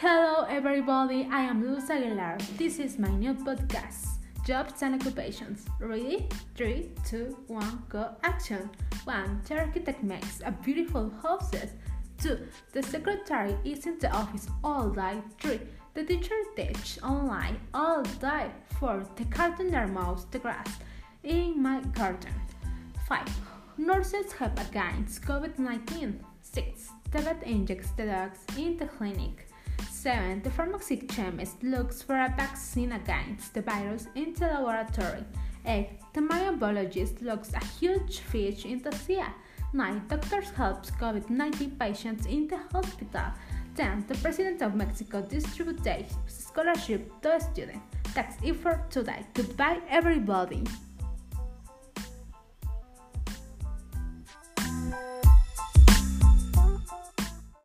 Hello everybody, I am Luz Aguilar. This is my new podcast, Jobs and Occupations. Ready? 3, 2, 1, go action. 1. The architect makes a beautiful houses. 2. The secretary is in the office all day. 3. The teacher teaches online all day. 4. The gardener mows the grass in my garden. 5. Nurses help against COVID-19. 6. The vet injects the dogs in the clinic. 7. The pharmacy chemist looks for a vaccine against the virus in the laboratory. 8. The marine biologist looks a huge fish in the sea. 9. Doctors help COVID-19 patients in the hospital. 10. The President of Mexico distributes scholarship to students. That's it for today. Goodbye, everybody.